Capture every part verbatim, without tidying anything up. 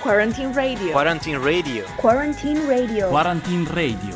Quarantine Radio. Quarantine Radio. Quarantine Radio. Quarantine Radio.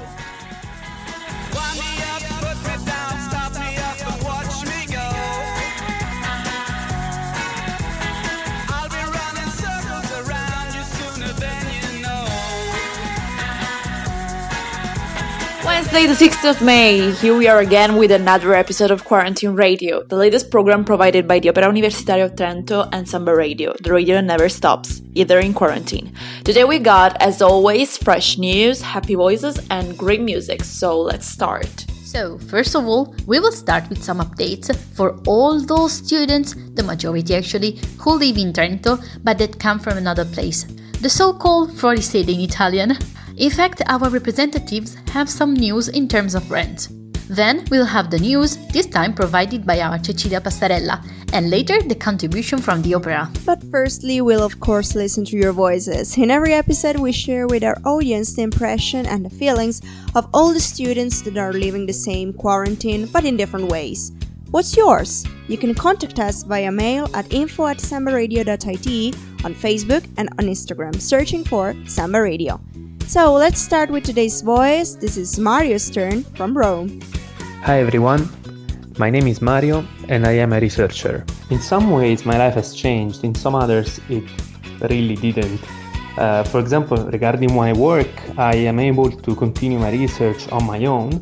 Wednesday, the sixth of May. Here we are again with another episode of Quarantine Radio, the latest program provided by the Opera Universitaria of Trento and Samba Radio, the radio that never stops, either in quarantine. Today we got, as always, fresh news, happy voices, and great music, so let's start. So, first of all, we will start with some updates for all those students, the majority actually, who live in Trento, but that come from another place. The so-called fuorisede in Italian. In fact, our representatives have some news in terms of rent. Then we'll have the news, this time provided by our Cecilia Passarella, and later the contribution from the opera. But firstly, we'll of course listen to your voices. In every episode, we share with our audience the impression and the feelings of all the students that are living the same quarantine, but in different ways. What's yours? You can contact us via mail at info at sambaradio dot it, on Facebook and on Instagram, searching for Samba Radio. So let's start with today's voice. This is Mario's turn from Rome. Hi everyone, my name is Mario and I am a researcher. In some ways my life has changed, in some others it really didn't. Uh, for example, regarding my work, I am able to continue my research on my own,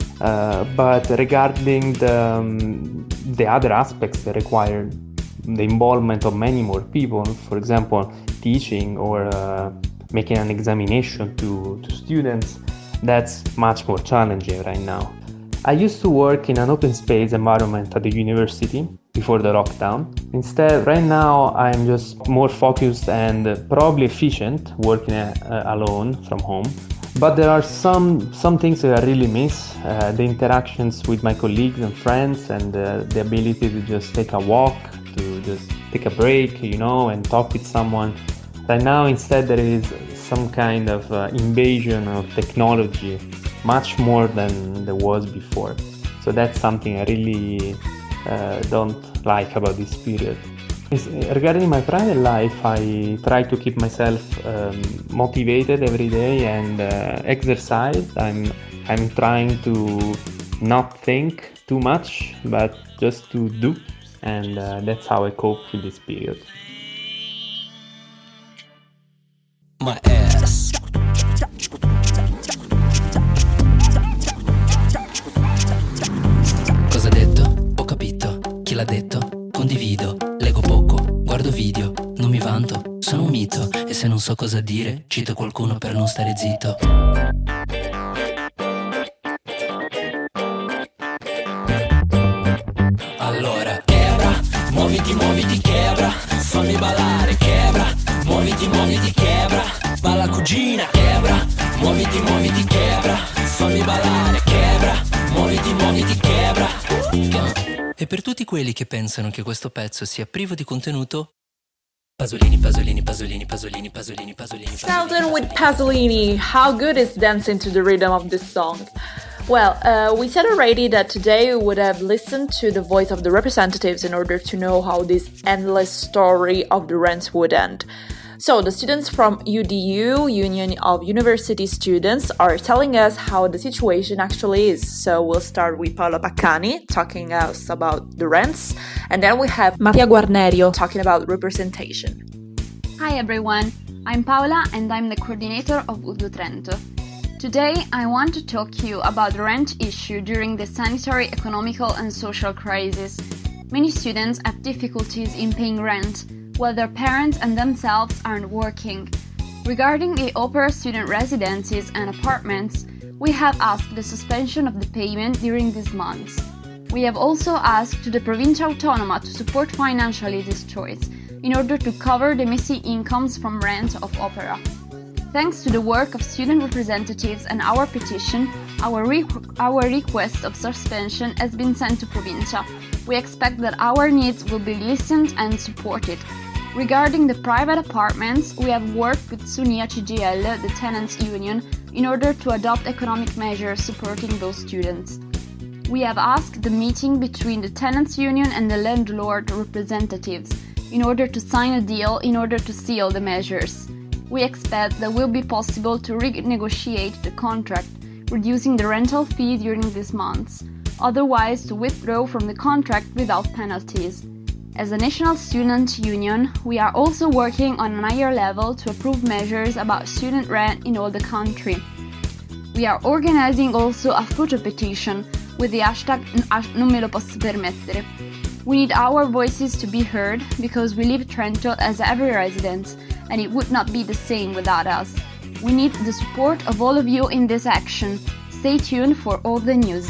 uh, but regarding the, um, the other aspects that require the involvement of many more people, for example, teaching or uh, making an examination to, to students, that's much more challenging right now. I used to work in an open space environment at the university before the lockdown. Instead, right now, I'm just more focused and probably efficient working uh, alone from home. But there are some, some things that I really miss, uh, the interactions with my colleagues and friends and uh, the ability to just take a walk, to just take a break, you know, and talk with someone. Right now, instead, there is some kind of uh, invasion of technology, much more than there was before. So that's something I really uh, don't like about this period. It's, regarding my private life, I try to keep myself um, motivated every day and uh, exercise. I'm, I'm trying to not think too much, but just to do. And uh, that's how I cope with this period. My ass. Cosa ha detto? Ho capito. Chi l'ha detto? Condivido. Leggo poco, guardo video, non mi vanto, sono un mito. E se non so cosa dire, cito qualcuno per non stare zitto. Allora, quebra, muoviti, muoviti, quebra, fammi ballare, quebra, muoviti, muoviti, quebra, balla cugina, quebra, muoviti, muoviti, quebra, fammi ballare, quebra, muoviti, muoviti, quebra. E per tutti quelli che pensano che questo pezzo sia privo di contenuto, Pasolini, Pasolini, Pasolini, Pasolini, Pasolini, Pasolini. Sheldon with Pasolini. How good is dancing to the rhythm of this song? Well, uh, we said already that today we would have listened to the voice of the representatives in order to know how this endless story of the rents would end. So, the students from U D U, Union of University Students, are telling us how the situation actually is. So, we'll start with Paola Paccani talking us about the rents, and then we have Mattia Guarnerio talking about representation. Hi everyone, I'm Paola and I'm the coordinator of U D U Trento. Today, I want to talk to you about the rent issue during the sanitary, economical and social crisis. Many students have difficulties in paying rent, while their parents and themselves aren't working. Regarding the opera student residences and apartments, we have asked the suspension of the payment during these months. We have also asked to the Provincia Autonoma to support financially this choice, in order to cover the missing incomes from rent of opera. Thanks to the work of student representatives and our petition, our, re- our request of suspension has been sent to Provincia. We expect that our needs will be listened and supported. Regarding the private apartments, we have worked with Sunia C G L, the tenants' union, in order to adopt economic measures supporting those students. We have asked the meeting between the tenants' union and the landlord representatives in order to sign a deal in order to seal the measures. we expect that it will be possible to renegotiate the contract, reducing the rental fee during these months, otherwise to withdraw from the contract without penalties. As a national student union, we are also working on a higher level to approve measures about student rent in all the country. We are organizing also a photo petition with the hashtag Non me lo posso permettere. We need our voices to be heard because we live Trento as every resident, and it would not be the same without us. We need the support of all of you in this action. Stay tuned for all the news.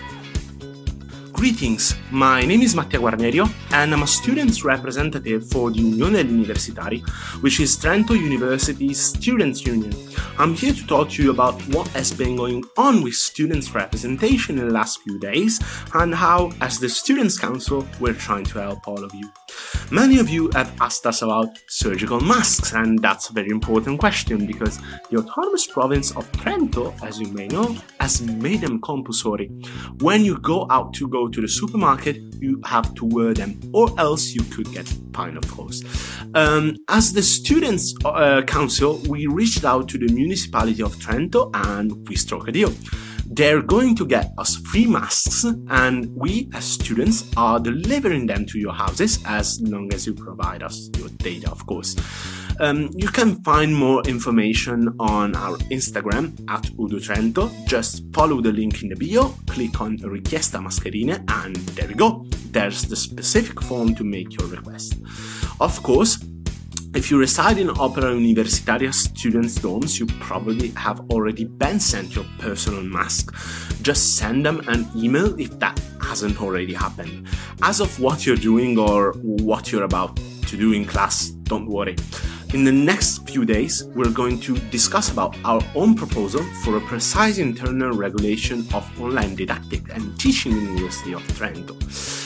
Greetings, my name is Mattia Guarnerio and I'm a students representative for the Unione Universitari, which is Trento University's students' union. I'm here to talk to you about what has been going on with students' representation in the last few days and how, as the Students' Council, we're trying to help all of you. Many of you have asked us about surgical masks, and that's a very important question because the autonomous province of Trento, as you may know, has made them compulsory. When you go out to go to the supermarket, you have to wear them, or else you could get fined, of course. Um, as the Students' uh, Council, we reached out to the municipality of Trento and we struck a deal. They're going to get us free masks, and we as students are delivering them to your houses as long as you provide us your data, of course. Um, you can find more information on our Instagram at UduTrento. Just follow the link in the bio, click on Richiesta Mascherine, and there we go. There's the specific form to make your request. Of course, if you reside in Opera Universitaria students' dorms, you probably have already been sent your personal mask. Just send them an email if that hasn't already happened. As of what you're doing or what you're about to do in class, don't worry. In the next few days, we're going to discuss about our own proposal for a precise internal regulation of online didactic and teaching in the University of Trento.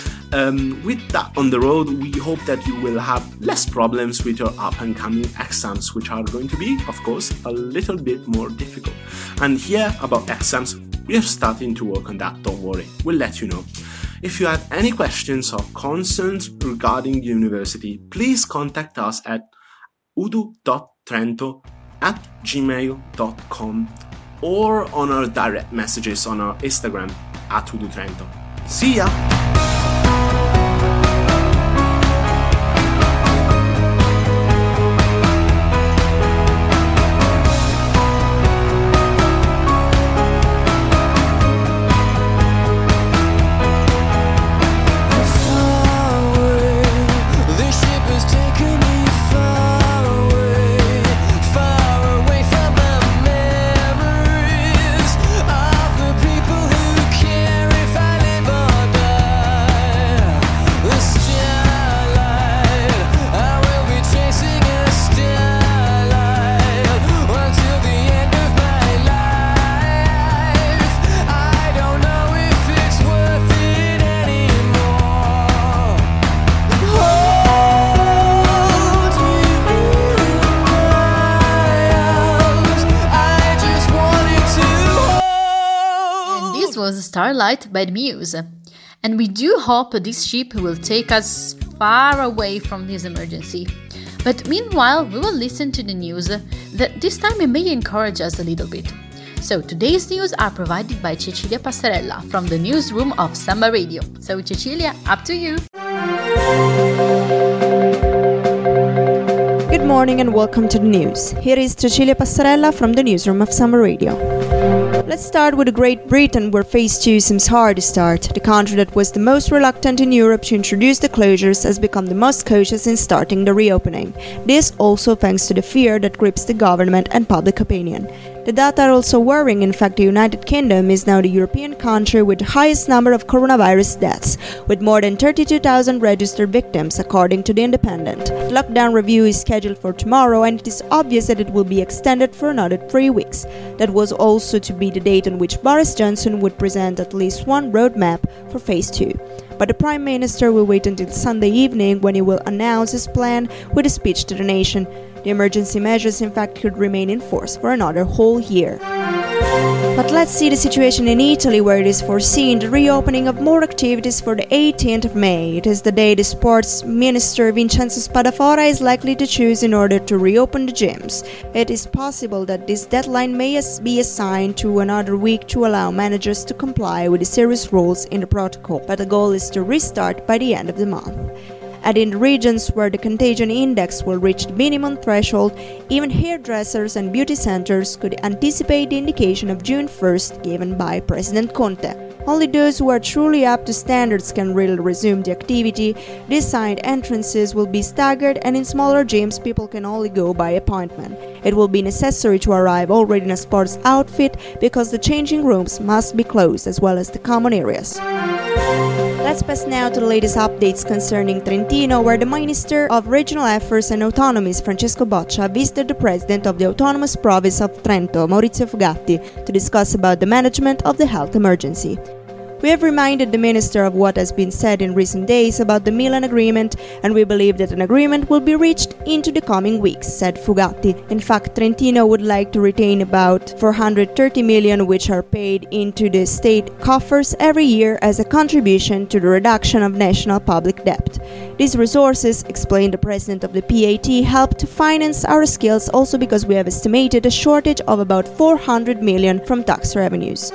Um, with that on the road, we hope that you will have less problems with your up-and-coming exams, which are going to be, of course, a little bit more difficult. And here, about exams, we are starting to work on that, don't worry, we'll let you know. If you have any questions or concerns regarding the university, please contact us at udu dot trento at gmail dot com or on our direct messages on our Instagram at udutrento. See ya! Was Starlight by the Muse, and we do hope this ship will take us far away from this emergency. But meanwhile, we will listen to the news that this time it may encourage us a little bit. So today's news are provided by Cecilia Passarella from the newsroom of Samba Radio. So Cecilia, up to you! Good morning and welcome to the news. Here is Cecilia Passarella from the newsroom of Samba Radio. Let's start with Great Britain, where phase two seems hard to start. The country that was the most reluctant in Europe to introduce the closures has become the most cautious in starting the reopening. This also thanks to the fear that grips the government and public opinion. The data are also worrying. In fact, the United Kingdom is now the European country with the highest number of coronavirus deaths, with more than thirty-two thousand registered victims, according to The Independent. The lockdown review is scheduled for tomorrow, and it is obvious that it will be extended for another three weeks. That was also to be the date on which Boris Johnson would present at least one roadmap for phase two. But the Prime Minister will wait until Sunday evening, when he will announce his plan with a speech to the nation. The emergency measures, in fact, could remain in force for another whole year. But let's see the situation in Italy, where it is foreseen the reopening of more activities for the eighteenth of May. It is the day the sports minister Vincenzo Spadafora is likely to choose in order to reopen the gyms. It is possible that this deadline may be assigned to another week to allow managers to comply with the serious rules in the protocol, but the goal is to restart by the end of the month. And in the regions where the contagion index will reach the minimum threshold, even hairdressers and beauty centers could anticipate the indication of June first given by President Conte. Only those who are truly up to standards can really resume the activity. Designed entrances will be staggered, and in smaller gyms people can only go by appointment. It will be necessary to arrive already in a sports outfit because the changing rooms must be closed as well as the common areas. Let's pass now to the latest updates concerning Trentino, where the Minister of Regional Affairs and Autonomies, Francesco Boccia, visited the President of the Autonomous Province of Trento, Maurizio Fugatti, to discuss about the management of the health emergency. We have reminded the Minister of what has been said in recent days about the Milan Agreement, and we believe that an agreement will be reached into the coming weeks, said Fugatti. In fact, Trentino would like to retain about four hundred thirty million, which are paid into the state coffers every year as a contribution to the reduction of national public debt. These resources, explained the president of the P A T, help to finance our skills also because we have estimated a shortage of about four hundred million from tax revenues.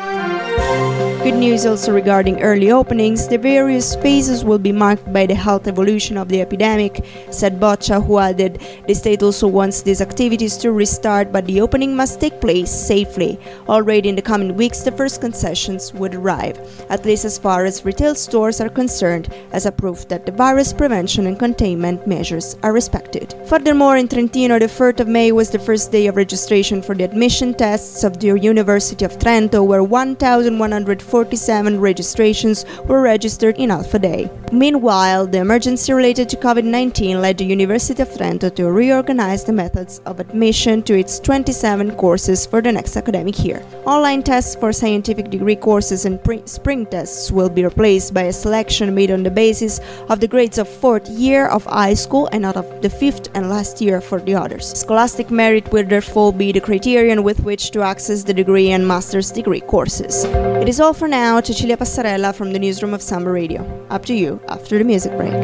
Good news also regarding early openings. The various phases will be marked by the health evolution of the epidemic, said Boccia, who added the state also wants these activities to restart, but the opening must take place safely. Already in the coming weeks, the first concessions would arrive, at least as far as retail stores are concerned, as a proof that the virus prevention and containment measures are respected. Furthermore, in Trentino, the fourth of May was the first day of registration for the admission tests of the University of Trento, where one thousand one hundred forty-seven registrations were registered in half a day. Meanwhile, the emergency related to COVID nineteen led the University of Trento to reorganize the methods of admission to its twenty-seven courses for the next academic year. Online tests for scientific degree courses and pre- spring tests will be replaced by a selection made on the basis of the grades of fourth year of high school and not of the fifth and last year for the others. Scholastic merit will therefore be the criterion with which to access the degree and master's degree courses. It is all for now. Cecilia Passarella from the newsroom of Samba Radio. Up to you after the music break.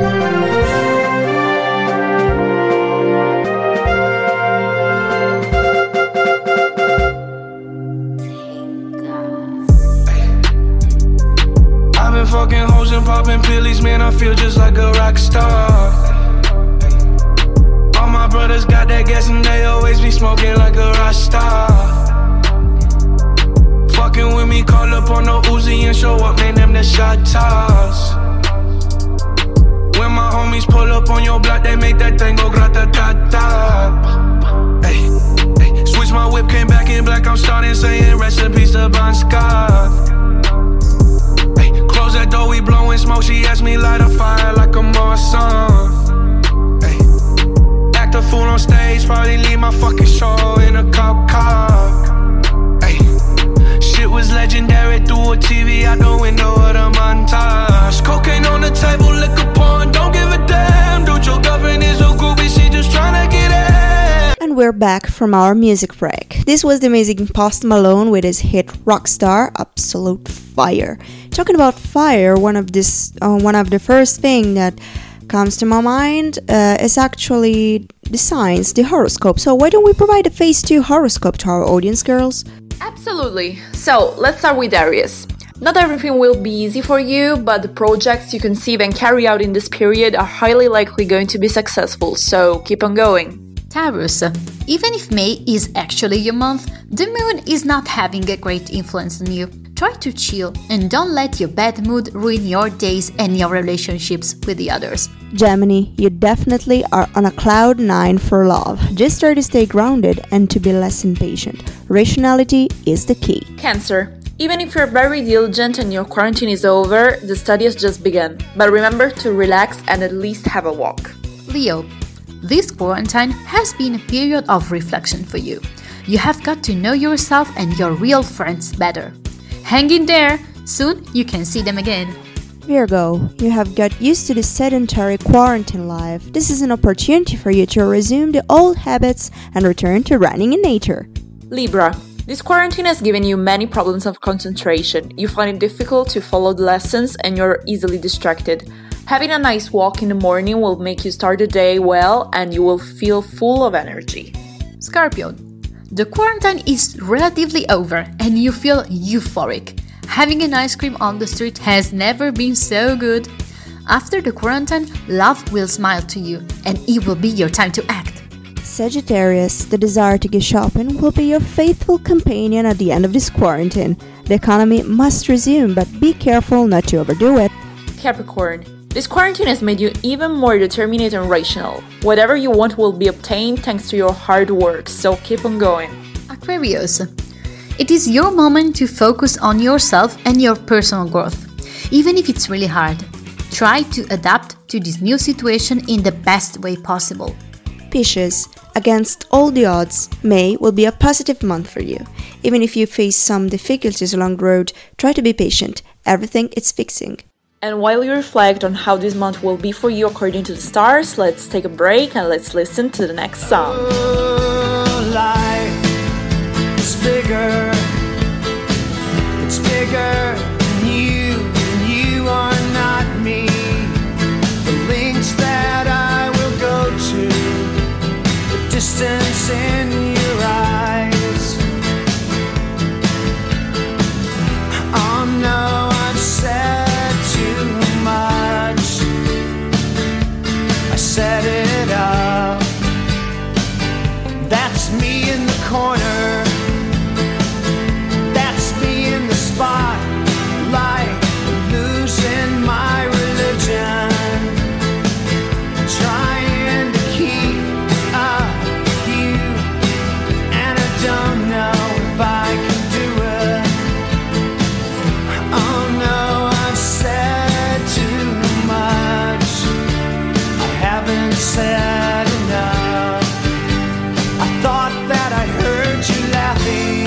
I've been fucking hoes and popping pillies, man, I feel just like a rock star. All my brothers got that gas and they always be smoking like a rock star. Fucking with me, call up on the Uzi and show up, man, them the shot toss. When my homies pull up on your block, they make that thing go grata-ta-ta. Hey, hey, switch my whip, came back in black, I'm starting saying rest in peace to Bon Scott. Hey, close that door, we blowing smoke, she asked me light a fire like a Marsan. Hey, act a fool on stage, probably leave my fucking show in a cop car. Shit was legendary through a T V out the window of the montage. Cocaine on the table, liquor porn, don't give a damn. Dude, your girlfriend is a groupie, she just tryna get in. And we're back from our music break. This was the amazing Post Malone with his hit Rockstar, Absolute Fire. Talking about fire, one of this, uh, one of the first thing that comes to my mind uh, is actually the signs, the horoscope. So why don't we provide a phase two horoscope to our audience, girls? Absolutely. So, let's start with Aries. Not everything will be easy for you, but the projects you conceive and carry out in this period are highly likely going to be successful, so keep on going. Taurus, even if May is actually your month, the moon is not having a great influence on you. Try to chill and don't let your bad mood ruin your days and your relationships with the others. Gemini, you definitely are on a cloud nine for love. Just try to stay grounded and to be less impatient. Rationality is the key. Cancer, even if you're very diligent and your quarantine is over, the study has just begun. But remember to relax and at least have a walk. Leo, this quarantine has been a period of reflection for you. You have got to know yourself and your real friends better. Hang in there, soon you can see them again. Virgo, you have got used to the sedentary quarantine life. This is an opportunity for you to resume the old habits and return to running in nature. Libra, This quarantine has given you many problems of concentration. You find it difficult to follow the lessons and you're easily distracted. Having a nice walk in the morning will make you start the day well and you will feel full of energy. Scorpio. The quarantine is relatively over and you feel euphoric. Having an ice cream on the street has never been so good. After the quarantine, love will smile to you and it will be your time to act. Sagittarius, the desire to go shopping will be your faithful companion at the end of this quarantine. The economy must resume, but be careful not to overdo it. Capricorn. This quarantine has made you even more determined and rational. Whatever you want will be obtained thanks to your hard work, so keep on going. Aquarius. It is your moment to focus on yourself and your personal growth, even if it's really hard. Try to adapt to this new situation in the best way possible. Pisces. Against all the odds, May will be a positive month for you. Even if you face some difficulties along the road, try to be patient. Everything is fixing. And while you reflect on how this month will be for you according to the stars, let's take a break and let's listen to the next song. Oh, life is bigger. It's bigger than you, and you are not me. The links that I will go to, the distance in your eyes. Oh no, I've said set it up. That's me in the corner. That's me in the spotlight, losing my religion, trying to keep up with you, and I don't know if I can do it. Oh no, I've said too much. Haven't said enough. I thought that I heard you laughing.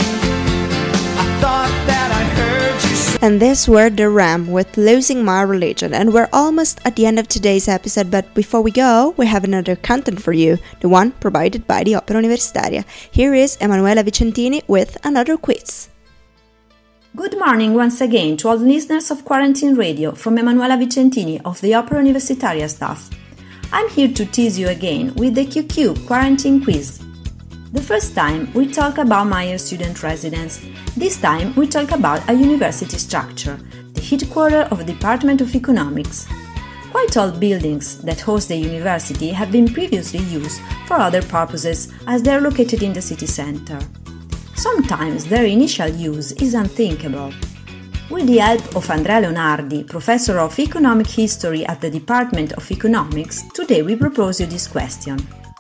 I thought that I heard you say. And this were The Ram with Losing My Religion, and we're almost at the end of today's episode, but before we go, we have another content for you, the one provided by the Opera Universitaria. Here is Emanuela Vicentini with another quiz. Good morning once again to all the listeners of Quarantine Radio from Emanuela Vicentini of the Opera Universitaria staff. I'm here to tease you again with the Q Q Quarantine Quiz. The first time we talk about Meyer student residence. This time we talk about a university structure, the headquarters of the Department of Economics. Quite all buildings that host the university have been previously used for other purposes as they are located in the city center. Sometimes their initial use is unthinkable. With the help of Andrea Leonardi, Professor of Economic History at the Department of Economics, today we propose you this question.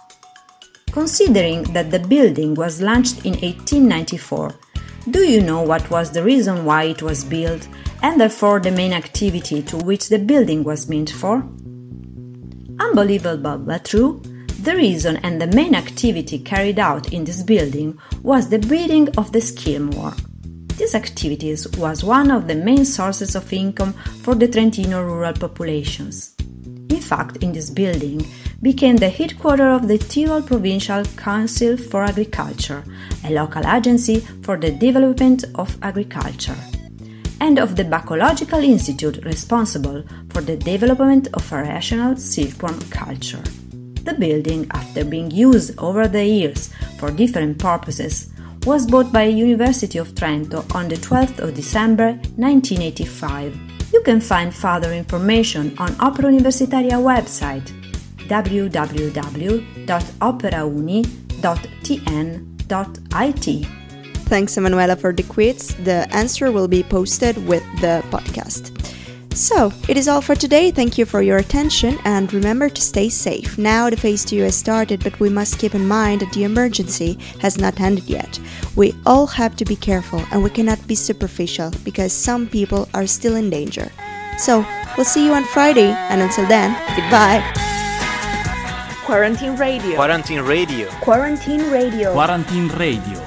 Considering that the building was launched in eighteen ninety-four, do you know what was the reason why it was built, and therefore the main activity to which the building was meant for? Unbelievable but true, the reason and the main activity carried out in this building was the breeding of the skim worm. This activity was one of the main sources of income for the Trentino rural populations. In fact, in this building became the headquarters of the Tyrol Provincial Council for Agriculture, a local agency for the development of agriculture, and of the Bacological Institute responsible for the development of a rational silkworm culture. The building, after being used over the years for different purposes, was bought by University of Trento on the twelfth of December nineteen eighty-five. You can find further information on Opera Universitaria website w w w dot operauni dot t n dot i t. Thanks, Emanuela, for the quiz. The answer will be posted with the podcast. So, it is all for today. Thank you for your attention and remember to stay safe. Now the phase two has started, but we must keep in mind that the emergency has not ended yet. We all have to be careful and we cannot be superficial because some people are still in danger. So, we'll see you on Friday and until then, goodbye. Quarantine Radio. Quarantine Radio. Quarantine Radio. Quarantine Radio.